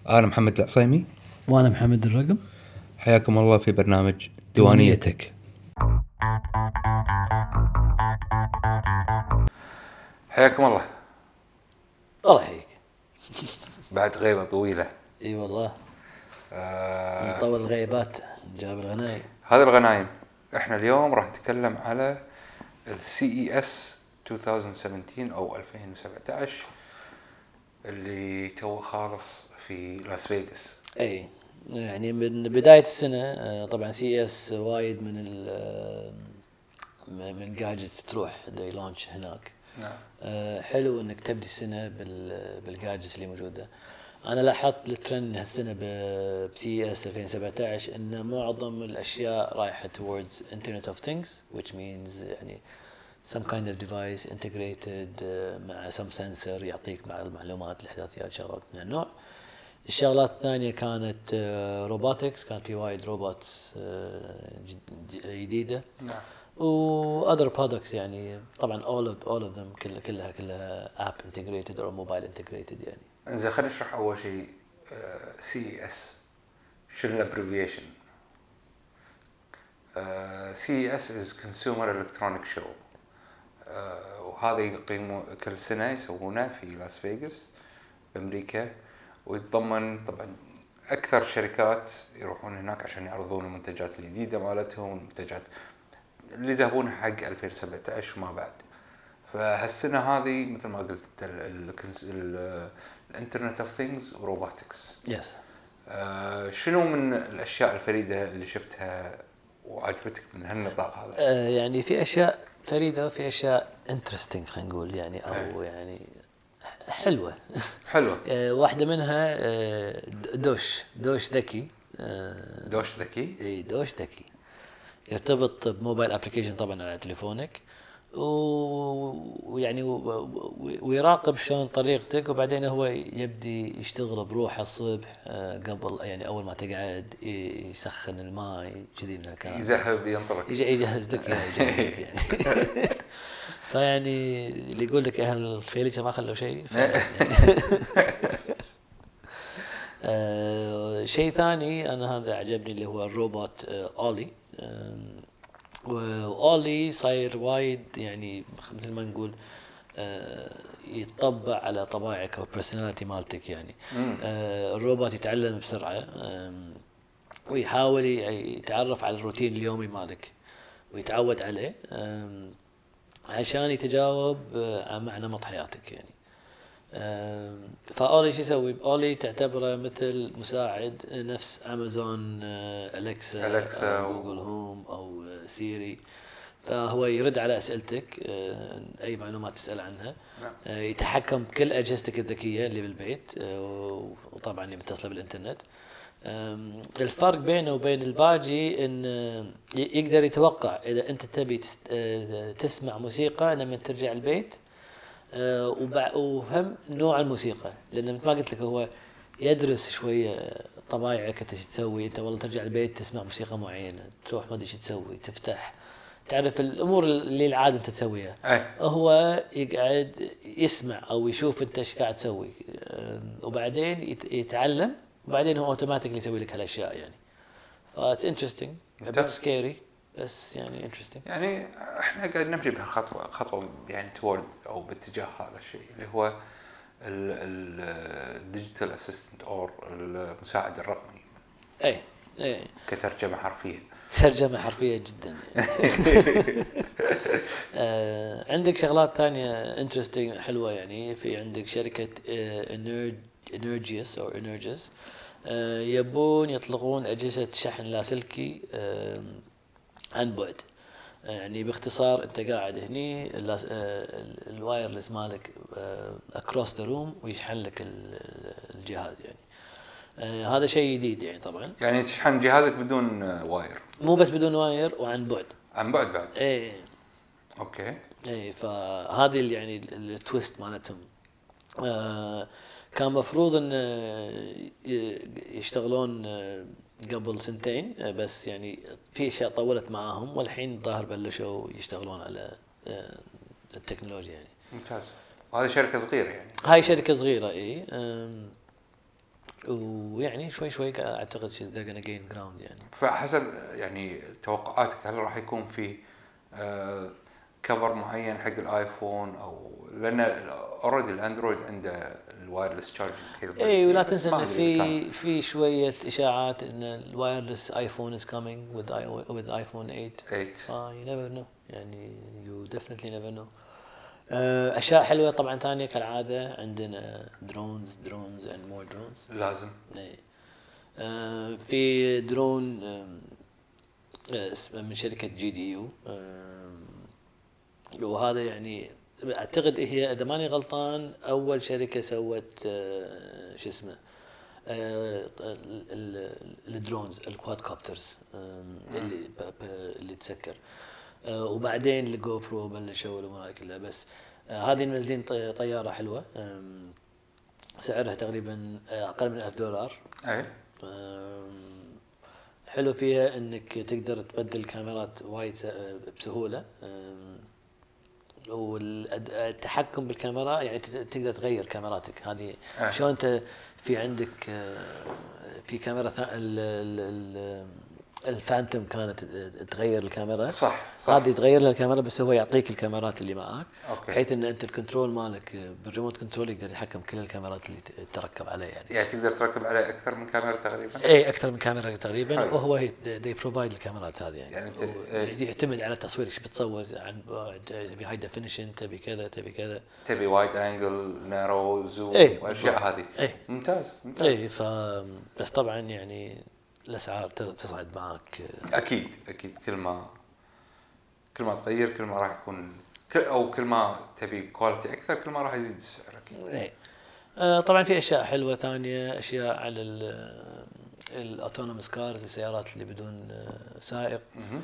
أنا محمد العصيمي. وأنا محمد الرقم. حياكم الله في برنامج ديوانيتك. حياكم الله. الله يحييك. بعد غيبة طويلة. اي والله. من طول الغيبات جاب الغنايم. هذه الغنايم. احنا اليوم راح نتكلم على CES 2017 أو 2017 اللي تو خالص في لاس فيغاس. اي يعني من بداية السنة طبعا CES وايد من الجاجتس تروح لونش هناك. نعم. حلو انك تبدي السنة بالجاجتس اللي موجودة. انا لاحظت الترند هالسنة CES 2017 ان معظم الاشياء رايحة towards Internet of Things, which means يعني some kind of device integrated مع some sensor يعطيك مع المعلومات الإحداثيات شغلات من النوع. الشغلات الثانية كانت روبوتكس، كان في وايد روبوتس جديدة. نعم. و other products يعني طبعا all of them كلها app integrated or mobile integrated يعني. إذا خلينا نشرح أول شيء CES شنو الابريفيشن. CES is Consumer Electronic Show. وهذا يقيموا كل سنة يسوونه في لاس فيغاس بأمريكا، ويتضمن طبعا أكثر شركات يروحون هناك عشان يعرضون المنتجات الجديدة مالتهم والمنتجات اللي يذهبونها حق 2017 وما بعد. فهالسنة هذه مثل ما قلت الانترنت اوف ثينجز وروبوتكس. Yes. شنو من الأشياء الفريدة اللي شفتها وعجبتك من هالنطاق هذا؟ يعني في أشياء فريدة وفي أشياء interesting خلينا نقول يعني أو يعني حلوة. واحدة منها دوش ذكي. دوش ذكي؟ اي دوش ذكي يرتبط بموبايل ابلكيشن طبعا على تليفونك، ويعني ويراقب شلون طريقتك، وبعدين هو يبدي يشتغل بروحه الصبح قبل يعني اول ما تقعد يسخن الماء كذي من الكلام، يذهب ينطرك يجهز لك يعني. فيعني اللي يقول لك اهل الفيليشة ما خلوا شيء. شيء ثاني انا هذا عجبني اللي هو الروبوت اولي. وأولي صاير وايد يعني مثل ما نقول يتطبع على طباعك أو personality مالتك يعني. الروبوت يتعلم بسرعة ويحاول يتعرف على الروتين اليومي مالك ويتعود عليه عشان يتجاوب مع نمط حياتك يعني. فأولي شو يسوي؟ أولي تعتبره مثل مساعد نفس أمازون أليكسا أو جوجل هوم أو سيري. فهو يرد على أسئلتك، أي معلومات تسأل عنها. يتحكم بكل أجهزتك الذكية اللي بالبيت، وطبعا اللي متصلة بالإنترنت. الفرق بينه وبين الباقي إن يقدر يتوقع إذا أنت تبي تسمع موسيقى لما ترجع البيت، وفهم نوع الموسيقى، لأن مثل ما قلت لك هو يدرس شوية طبايعك انت ايش تسوي. انت والله ترجع البيت تسمع موسيقى معينة، تروح ما ادري ايش تسوي، تفتح تعرف الامور اللي العادة انت تسويها. هو يقعد يسمع او يشوف انت ايش قاعد تسوي، وبعدين يتعلم، وبعدين هو اوتوماتيكلي يسوي لك هالاشياء يعني. فاتس انترستينج بس سكيري بس يعني interesting. يعني احنا قاعد نمشي بهالخطوة يعني تورد او باتجاه هذا الشيء اللي هو الديجيتال اسيستنت او المساعد الرقمي. اي كترجمة حرفية. ترجمة حرفية جدا يعني. عندك شغلات ثانية interesting حلوة يعني. في عندك شركة Energis أو Energis يبون يطلقون أجهزة شحن لاسلكي عن بعد. يعني باختصار انت قاعد هني الوايرلس مالك across the room ويشحن لك الجهاز يعني. هذا شيء جديد يعني. طبعا يعني تشحن جهازك بدون واير، مو بس بدون واير وعن بعد. عن بعد. ايه اوكي. ايه فهذه يعني التويست مالتهم. كان مفروض ان يشتغلون قبل سنتين، بس يعني في اشياء طولت معاهم، والحين ظاهر بلشوا يشتغلون على التكنولوجيا يعني. ممتاز. وهذه شركة صغيرة يعني. هاي شركة صغيرة اي. ويعني شوي اعتقد they're gonna gain ground يعني. فحسب يعني توقعاتك هل راح يكون في كفر معين حق الايفون او لان اوريدي الاندرويد عنده الوايرلس تشارجنج كيبل. اي ولا تنسى ان في شويه اشاعات ان الوايرلس ايفون از كامينج with ايفون 8. you never know يعني you definitely never know. اشياء حلوه طبعا ثانيه كالعاده عندنا درونز and more drones لازم. في درون من شركه GDU وهذا يعني اعتقد هي اذا ماني غلطان اول شركه سوت شو اسمه الدرونز الكواد كوبترز اللي تسكر وبعدين الجو برو بلشوا الامور كلها. بس هذه منزلين طياره حلوه سعرها تقريبا اقل من $1000. اي حلو فيها انك تقدر تبدل الكاميرات وايد بسهوله والتحكم بالكاميرا يعني تقدر تغير كاميراتك هذه. شلون انت في عندك في كاميرا الفانتوم كانت تغير الكاميرا صح. هذه تغير لها الكاميرا بس هو يعطيك الكاميرات اللي معك بحيث ان انت الكنترول مالك بالريموت كنترول يقدر يحكم كل الكاميرات اللي تركب عليه يعني تقدر تركب عليه اكثر من كاميرا تقريبا. اي اكثر من كاميرا تقريبا وهو they provide الكاميرات هذه يعني يعتمد على التصوير ايش بتصور عن تبي هاي ديفينيشن تبي كذا تبي وايد انجل نارو زوم والاشياء هذه. ممتاز. اي بس طبعا يعني الاسعار تصعد معك اكيد كل ما تغير كل ما راح يكون كل ما تبي كواليتي اكثر كل ما راح يزيد السعر اكيد. طبعا في اشياء حلوه ثانيه اشياء على الاوتونوموس كارز السيارات اللي بدون سائق.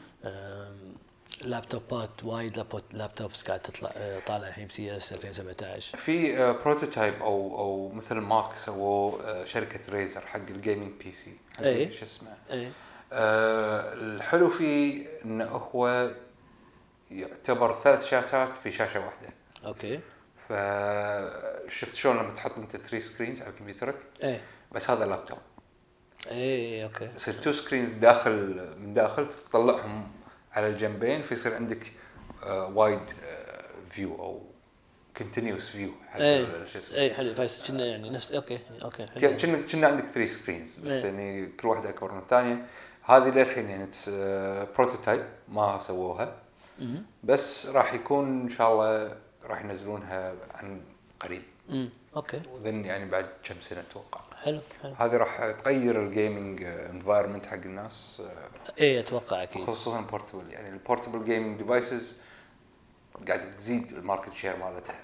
لابتوبات وايد لابتوبس قاعد تطلع طالع الحين CES 2017. في بروتوتايب او مثل ماك سووا شركه ريزر حق الجيمنج بي سي شو اسمه. الحلو فيه انه هو يعتبر 3 شاشات في شاشه واحده. اوكي. فشفت شلون لما تحط انت 3 سكرينز على كمبيوترك بس هذا لابتوب. اوكي. يصير 2 سكرينز من داخل تطلعهم على الجنبين فيصير عندك وايد فيو او كونتينيوس فيو حق شو اسمه. حلو فايس كنا يعني نفس اوكي كنا عندك 3 سكرينز بس يعني كل واحده اكبر من الثانيه. هذه للحين يعني بروتوتايب ما سووها بس راح يكون ان شاء الله راح ينزلونها عن قريب. اوكي وذن يعني بعد كم سنه اتوقع. حلو. هذه راح تغير الجيمنج انفايرمنت حق الناس. اتوقع اكيد خصوصا البورتبل يعني البورتبل جيمنج ديفايسز قاعده تزيد الماركت شير مالتها.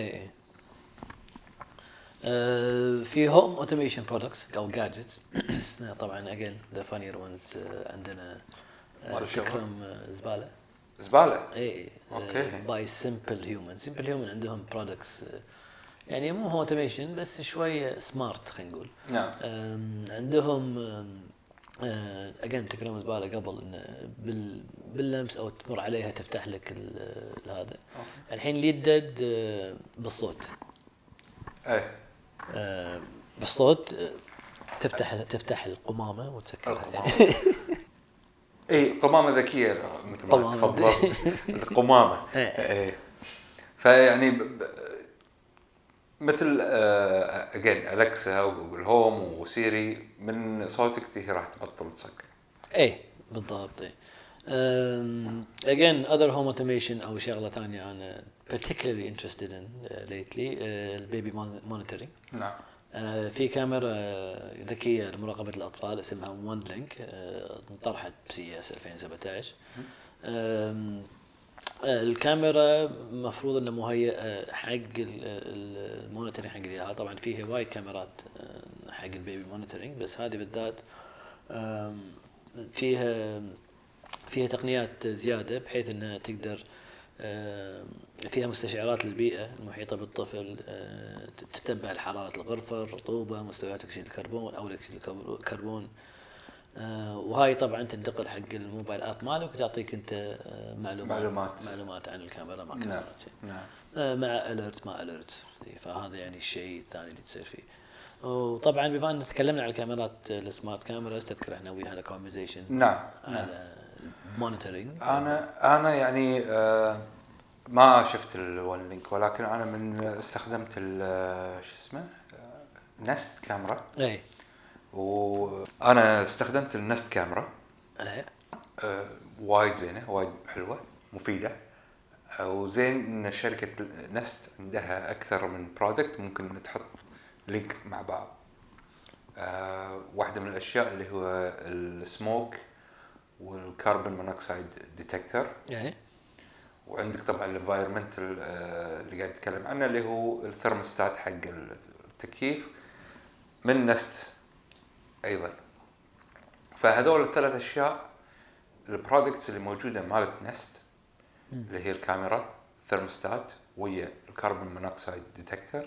في هوم اوتوميشن برودكتس او جادجتس طبعا اجين ذا فانير وانز عندنا تكرم زباله اوكي باي سمبل هيومن عندهم برودكتس يعني مو هو اوتوميشن بس شويه سمارت خلينا نقول. نعم. عندهم اجين تكرم زباله قبل إن باللمس او تمر عليها تفتح لك هذا الحين يدد بالصوت. بالصوت تفتح القمامه وتسكرها. قمامه ذكيه مثل ما تفضلت. القمامه فيعني مثل اجين الكسا وجوجل هوم وسيري من صوتك هي راح تبطل تسكر. بالضبط. again other home automation او شغله ثانيه انا particularly interested in lately البيبي monitoring. نعم. في كاميرا ذكيه لمراقبه الاطفال اسمها وان لينك انطرحت CES 2017. الكاميرا مفروض انه مهيئه حق المونيتورنج حق الياها. طبعا فيه وايد كاميرات حق البيبي مونيتورنج بس هذه بالذات فيها تقنيات زياده بحيث انها تقدر فيها مستشعرات للبيئه المحيطه بالطفل تتبع حراره الغرفه الرطوبه مستويات اكسيد الكربون او اكسيد الكربون. وهاي طبعا تنتقل حق الموبايل اب مالك وتعطيك انت معلومات عن الكاميرا ما كاميرا. نعم. مع اليرت ما اليرت. فهذا يعني الشيء الثاني اللي تصير فيه. وطبعا بما ان تكلمنا عن الكاميرات السمارت كاميرا، تذكر احنا وياها على كونفرزيشن نعم على مونيتورنج. انا يعني ما شفت الون لينك، ولكن انا من استخدمت شو اسمه نست كاميرا. اي وانا استخدمت النست كاميرا اي وايد زينه، وايد حلوه مفيده. وزين ان شركه نست عندها اكثر من برودكت ممكن تحط لينك مع بعض. واحده من الاشياء اللي هو السموك والكربون مونوكسيد ديتكتور. وعندك طبعا الانفايرمنتال اللي قاعد اتكلم عنه اللي هو الثرموستات حق التكييف من نست ايضا. فهذول الثلاث اشياء البرودكتس اللي موجوده مالت نست اللي هي الكاميرا، الثرموستات، ويا الكربون مونوكسيد ديتكتور،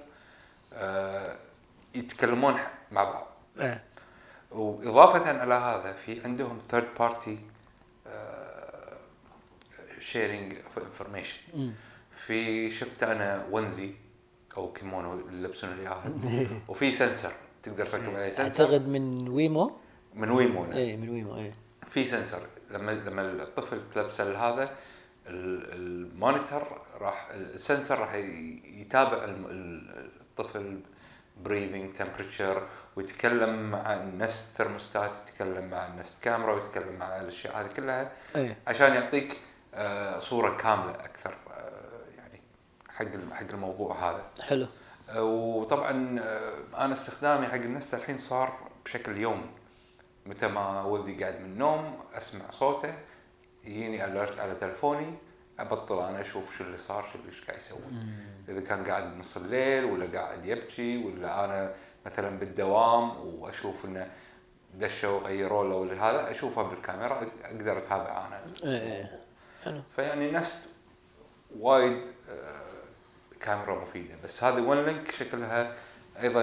يتكلمون مع بعض. واضافه على هذا في عندهم ثيرد بارتي شيرينج انفورميشن. في شفت انا ونزي او كيمونو اللي يلبسون اياها وفي سنسر تقدر تركب عليه سنسر. اعتقد من ويمو. من ويمو اي من ويمو. اي في سنسر لما الطفل تلبسه هذا المونيتور راح السنسر راح يتابع الطفل بريذنج تمبريتشر، ويتكلم مع النست ثرموستات، يتكلم مع النست كاميرا، ويتكلم مع الاشياء هذه كلها عشان يعطيك صورة كاملة أكثر يعني حق الموضوع هذا. حلو. وطبعا أنا استخدامي حق النست الحين صار بشكل يومي. متى ما ولدي قاعد من النوم أسمع صوته، يجيني أليرت على تلفوني، أبطل أنا أشوف شو اللي صار، شو اللي قاعد يسوي. إذا كان قاعد نص الليل ولا قاعد يبكي، ولا أنا مثلا بالدوام وأشوف إنه دشوا غيروا له ولا هذا، أشوفه بالكاميرا أقدر أتابع أنا. حلو. فيعني نست وايد كاميرا مفيدة. بس هذه ون لينك شكلها أيضا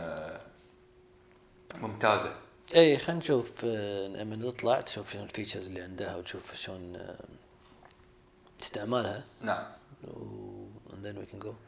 ممتازة. اي خلينا نشوف لما نطلع تشوف شنو الفيتشرز اللي عندها وتشوف شلون استعمالها. نعم. and then we can go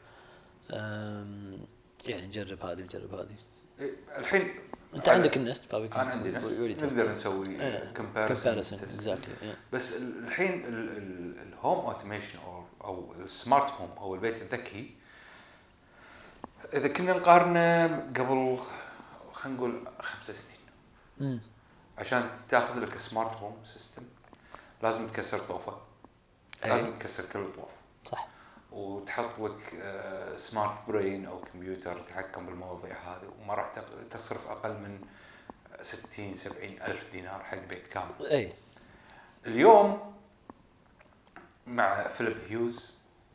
يعني نجرب هذه ونجرب هذه. الحين انت عندك النست فاوي. انا عندي نست نقدر نسوي كومباريسون exactly. بس الحين الهوم اوتوميشن او السمارت هوم او البيت الذكي، اذا كنا نقارنه قبل خلينا نقول 5 سنين عشان تاخذ لك سمارت هوم سيستم لازم تكسر طوفه. لازم تكسر كل الطوف. صح. وتحط لك سمارت برين او كمبيوتر يتحكم بالمواضيع هذه، وما راح تصرف اقل من 60 70 ألف دينار حق بيت كامل. اليوم مع فيليب هيوز،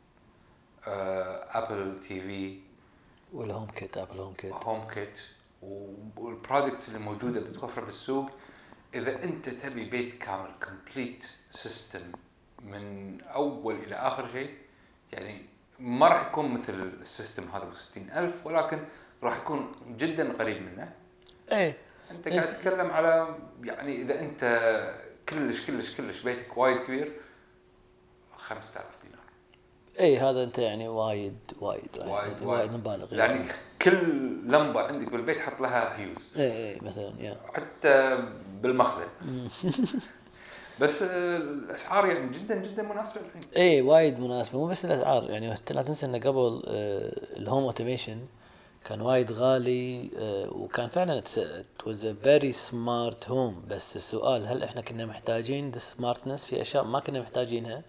ابل تي في والهوم كيت، ابل هوم كيت والبرودكتس اللي موجوده بتوفر بالسوق، اذا انت تبي بيت كامل كومبليت سيستم من اول الى اخر شيء، يعني ما راح يكون مثل السيستم هذا ب60,000، ولكن راح يكون جدا قريب منه. انت قاعد تتكلم على يعني اذا انت كلش بيتك وايد كبير 5,000 دينار. هذا انت يعني وايد مبالغ يعني كل لمبه عندك بالبيت حط لها هيوز. مثلا حتى بالمخزن. بس الاسعار يعني جدا مناسبه الحين. وايد مناسبه. مو بس الاسعار، يعني لا تنسى ان قبل الهوم اوتوميشن كان وايد غالي، وكان فعلا it was a very smart home. بس السؤال هل احنا كنا محتاجين the smartness؟ في اشياء ما كنا محتاجينها.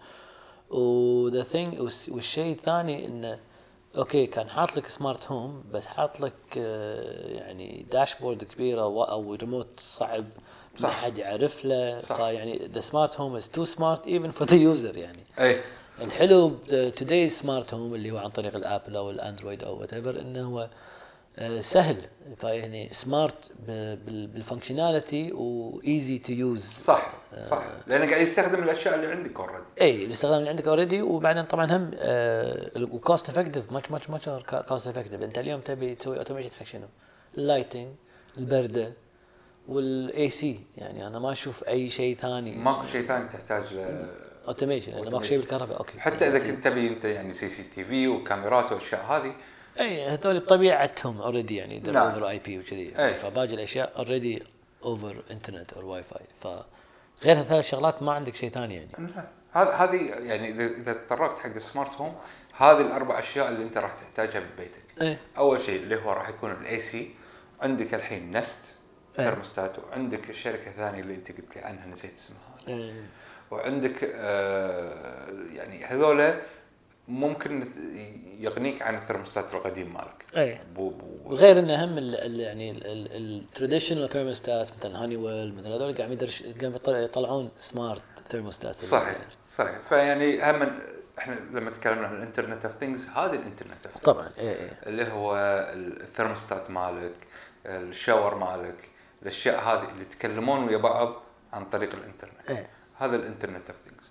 والشيء الثاني انه اوكي كان حاط لك سمارت هوم، بس حاط لك يعني داشبورد كبيره او ريموت صعب ما حد يعرف له. فيعني the smart home is too smart even for the user. يعني الحلو today's smart home اللي هو عن طريق الابل او الاندرويد او whatever انه هو سهل. فيعني سمارت بالفانكشناليتي وايزي تو يوز. صح لانه قاعد يستخدم الاشياء اللي عندك اوريدي. الاستخدام اللي عندك اوريدي. وبعدين طبعا هم الكوست افكتيف ماتش كوست افكتيف. انت اليوم تبي تسوي اوتوميشن حق شنو؟ اللايتنج، البرده، والاي سي. يعني انا ما اشوف اي شيء ثاني، ماكو شيء ثاني تحتاج اوتوميشن. انا ماكو شيء بالكهرباء. اوكي حتى اذا كنت تبي انت يعني سي سي تي في وكاميرات والاشياء هذه اي هذول بطبيعتهم اوريدي يعني نعم. اوفر اي بي وكذي، فباقي الاشياء اوريدي اوفر انترنت او واي فاي، فغير هالثلاث شغلات ما عندك شيء ثاني يعني. هذه يعني اذا تطرقت حق السمارت هوم، هذه الاربع اشياء اللي انت راح تحتاجها ببيتك. اول شيء اللي هو راح يكون الاي سي، عندك الحين نست ثرموستات، وعندك الشركه الثانيه اللي انت قلت لي عنها نسيت اسمها، وعندك يعني هذول ممكن يغنيك عن الثرموستات القديم مالك. وغير انه هم يعني التراديشنال ثرموستات مثلا هانيويل مثلا هذول قاعد يطلعون سمارت ثرموستات. صحيح. فيعني هم احنا لما تكلمنا عن الانترنت اوف ثينجز، هذه الانترنت اوف طبعا اللي هو الثرموستات مالك، الشاور مالك، الاشياء هذه اللي يتكلمون ويا بعض عن طريق الانترنت. هذا الانترنت اوف ثينجز.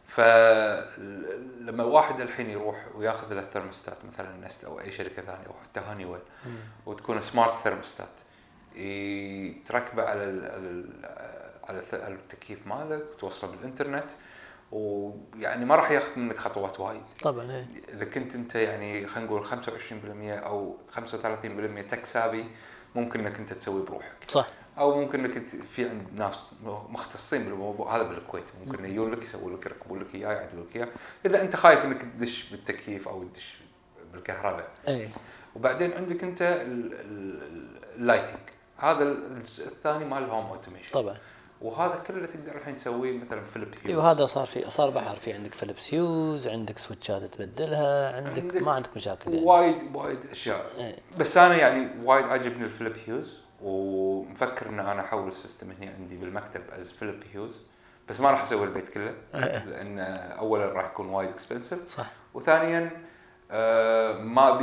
فلما واحد الحين يروح وياخذ الثرموستات مثلا نست او اي شركه ثانيه او حتى هانيويل، وتكون سمارت ثرموستات تركبه على التكييف مالك وتوصله بالانترنت، ويعني ما راح ياخذ منك خطوات وايد طبعا. اذا كنت انت يعني خلينا نقول 25% او 35% تك سابي، ممكن انك انت تسوي بروحك. صح. او ممكن انك في عند ناس مختصين بالموضوع هذا بالكويت، ممكن يجون لك يسوون لك يركبون لك اياه يعدلوا لك اياه اذا انت خايف انك تدش بالتكييف او تدش بالكهرباء. وبعدين عندك انت اللايتنج، هذا الثاني مال الهوم اوتوميشن طبعا، وهذا كله تقدر الحين تسويه مثلا فيليب هيوز. وهذا صار بحر، في عندك فيليب هيوز، عندك سويتشات تبدلها، عندك ما عندك مشاكل يعني. وايد اشياء. بس انا يعني وايد عجبني الفيليب هيوز، ومفكر ان انا احول السيستم هنا عندي بالمكتب از فيليب هيوز، بس ما راح اسوي البيت كله لان اولا راح يكون وايد اكسبنسيف، صح. وثانيا ما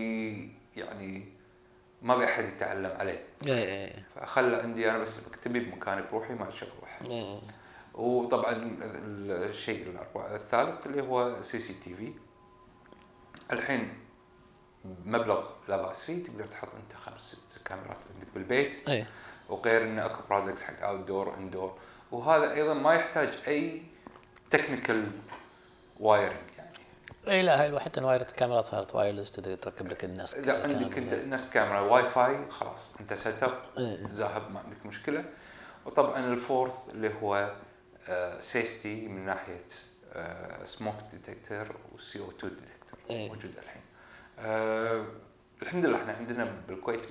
بي احد يتعلم عليه. فخلى عندي انا بس مكتبي بمكاني بروحي ما شغل واحد. وطبعا الشيء الثالث اللي هو سي سي تي في، الحين مبلغ لا باس فيه تقدر تحط انت 5-6 كاميرات عندك بالبيت. وغير ان اكو برودكتس حق اوت دور اندور، وهذا ايضا ما يحتاج اي تكنيكال وايرنج يعني. لا هاي حتى وايرد الكاميرا صارت وايرلس، تقدر تركب لك الناس. اذا عندك انت نفس كاميرا واي فاي خلاص انت سيت اب ذاهب ما عندك مشكله. وطبعا الفورث اللي هو سيفتي من ناحيه سموك ديتكتور وسي او 2 ديتكتور موجود الحين. الحمد لله احنا عندنا بالكويت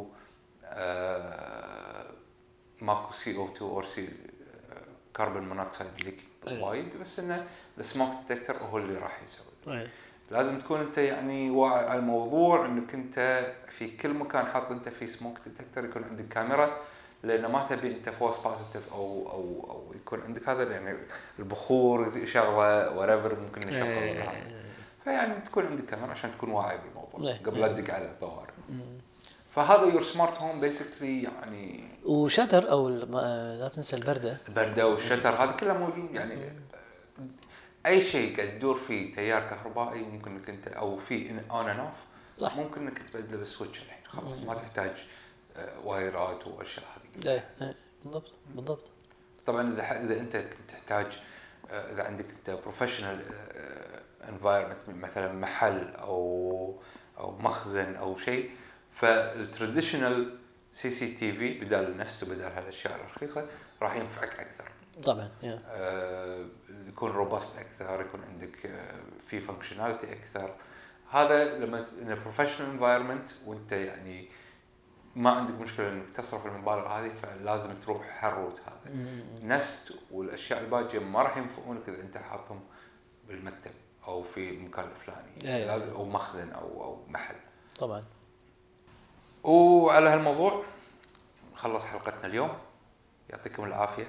ماكو سي او 2 او سي كربون مونوكسيد ليك وايد، بس انه السموك ديتكتور هو اللي راح يسوي. لازم تكون انت يعني واعي على الموضوع، انك انت في كل مكان حاط انت في سموك ديتكتور يكون عندك كاميرا، لان ما تبي انت فولس بوزيتيف او يكون عندك هذا يعني البخور شغله وريفر ممكن يشغل. فيعني تكون عندك كاميرا عشان تكون واعي بالموضوع قبل لا تدق على الظواهر. فهذا يور سمارت هوم بيسكلي يعني. وشتر او لا تنسى البرده والشتر هذا كله موجود يعني. اي شيء قاعد تدور فيه تيار كهربائي ممكن انك انت او في اون اند اوف ممكن انك تبدله بالسويتش الحين خلاص ما تحتاج وايرات واشياء هذه. بالضبط. طبعا اذا انت تحتاج اذا عندك انت بروفيشنال انفايرمنت مثلا محل او مخزن او شيء، فالتراديشنال سي سي تي في بدال النست وبدال هالاشياء الرخيصه راح ينفعك اكثر طبعا. يكون روبست اكثر، يكون عندك في فانكشناليتي اكثر. هذا لما ان بروفيشنال انفايرمنت وانت يعني ما عندك مشكله انك تصرف المبالغ هذه، فلازم تروح هالروت هذا. نست والاشياء الباقيه ما راح ينفعونك اذا انت حاطهم بالمكتب او في مكان فلاني لازم او مخزن او محل طبعا. وعلى هالموضوع نخلص حلقتنا اليوم. يعطيكم العافيه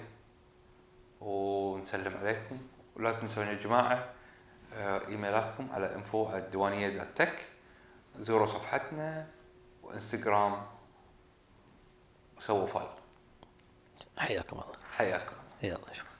ونسلم عليكم، ولا تنسون يا جماعه ايميلاتكم على info@diwaniyya.tech. زوروا صفحتنا وانستغرام وسووا فولو. حياكم الله. حياكم. يلا شوف.